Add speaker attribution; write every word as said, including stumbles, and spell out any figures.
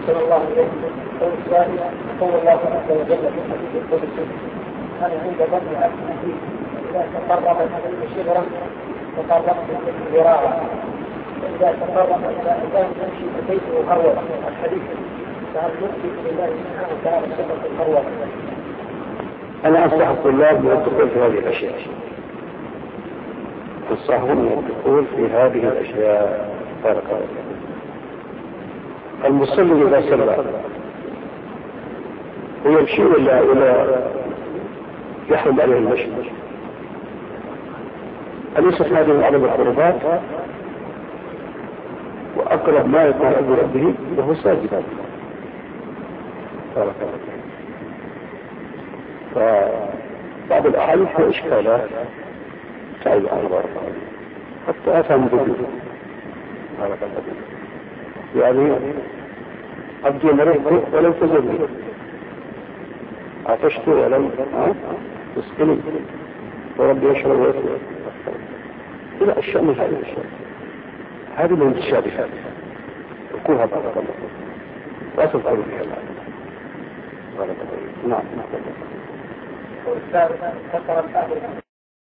Speaker 1: أحسن الله إليكم قول السائل قول الله عز وجل في الحديث القدسي أنا عند ظن عبدي إذا تقربت إلي شبرا تقربت إليه ذراعا إذا تقرب إلى إنسان يمشي ببيته هروة الحديث فهل نثبت لله سبحانه وتعالى صفة الهروة؟
Speaker 2: أنا أنصح الطلاب من الدخول في هذه الأشياء، أنصحهم من الدخول في هذه الأشياء. بارك الله فيكم. المصلي إذا صلى ويمشي إلى إلى يحرم عليه المشي، أليست هذه من أعظم القربات وأقرب ما يكون عند ربه وهو ساجد؟ بارك الله فيكم. فبعض الأحاديث وإشكالات تعيد عن بارك الله حتى أفهم بدون بارك الله فيكم. يعني أبدي مريض ولم تزلني، عطشت ولم تسقني، وربي يشرب ويطلع إلى أشياء من هذه الأشياء. هذه من الشابهات وكوها بارك الله فيكم. وأصل قولي بها بارك الله فيكم. نعم.
Speaker 1: والثالث ذكر الأهل